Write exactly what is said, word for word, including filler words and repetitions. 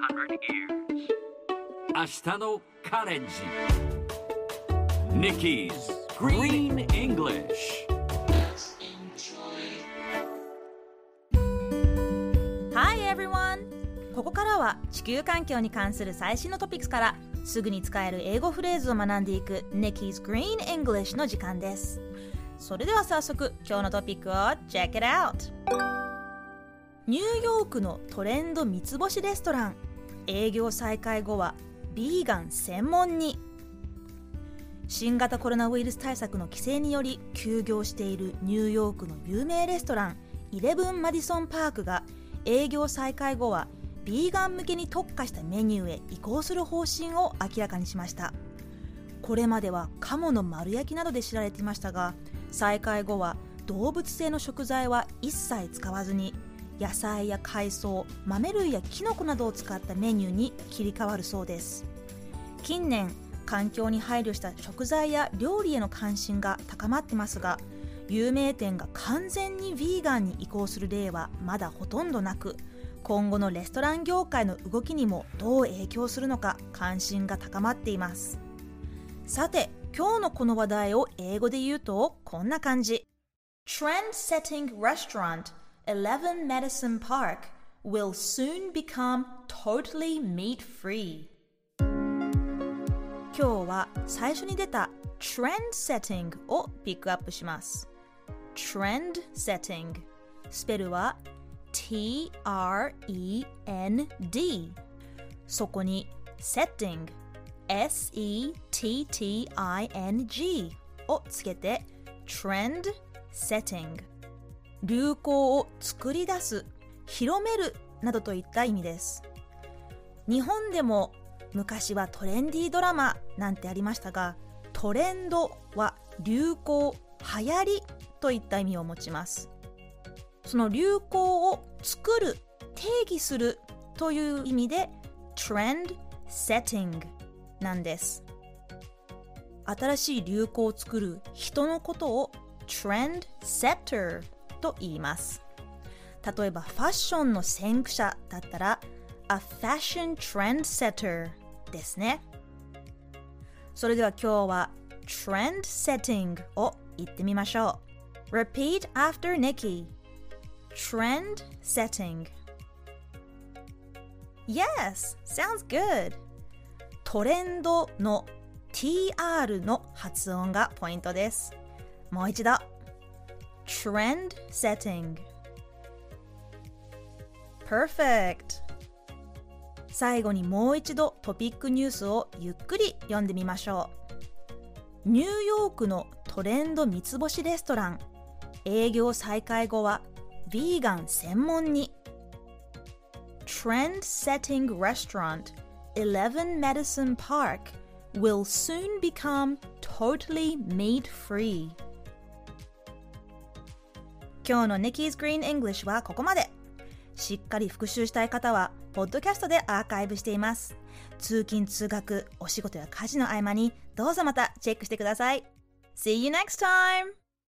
明日のカレンジ Nikki's Green English。 Hi everyone! ここからは地球環境に関する最新のトピックスからすぐに使える英語フレーズを学んでいく Nikki's Green English の時間です。それでは早速今日のトピックを Check it out! ニューヨークのトレンド三つ星レストラン営業再開後はビーガン専門に。新型コロナウイルス対策の規制により休業しているニューヨークの有名レストランイレブンマディソンパークが営業再開後はビーガン向けに特化したメニューへ移行する方針を明らかにしました。これまでは鴨の丸焼きなどで知られていましたが、再開後は動物性の食材は一切使わずに野菜や海藻、豆類やキノコなどを使ったメニューに切り替わるそうです。近年、環境に配慮した食材や料理への関心が高まってますが、有名店が完全にヴィーガンに移行する例はまだほとんどなく、今後のレストラン業界の動きにもどう影響するのか関心が高まっています。さて、今日のこの話題を英語で言うとこんな感じ。Trend-setting restaurant Eleven Medicine Park will soon become totally meat-free。 今日は最初に出た Trend-setting をピックアップします。Trend-setting スペルは ティーアールイーエヌディー そこに Settingエスイーティーティーアイエヌジー をつけて Trend-setting流行を作り出す、広めるなどといった意味です。日本でも昔はトレンディードラマなんてありましたが、トレンドは流行、流行りといった意味を持ちます。その流行を作る、定義するという意味で Trend setting なんです。新しい流行を作る人のことを Trend setterと言います。例えばファッションの先駆者だったら A fashion trendsetter ですね。それでは今日は Trend setting を言ってみましょう。 Repeat after Nikki. Trend setting. Yes, sounds good. トレンドの ティーアール の発音がポイントです。もう一度Trend setting. Perfect. 最後にもう一度トピックニュースをゆっくり読んでみましょう。ニューヨークのトレンド三つ星レストラン営業再開後はヴィーガン専門に。 Trend setting restaurant Eleven Medicine Park will soon become totally meat free。今日の Nikki's Green English はここまで。しっかり復習したい方はポッドキャストでアーカイブしています。通勤通学、お仕事や家事の合間にどうぞまたチェックしてください。See you next time!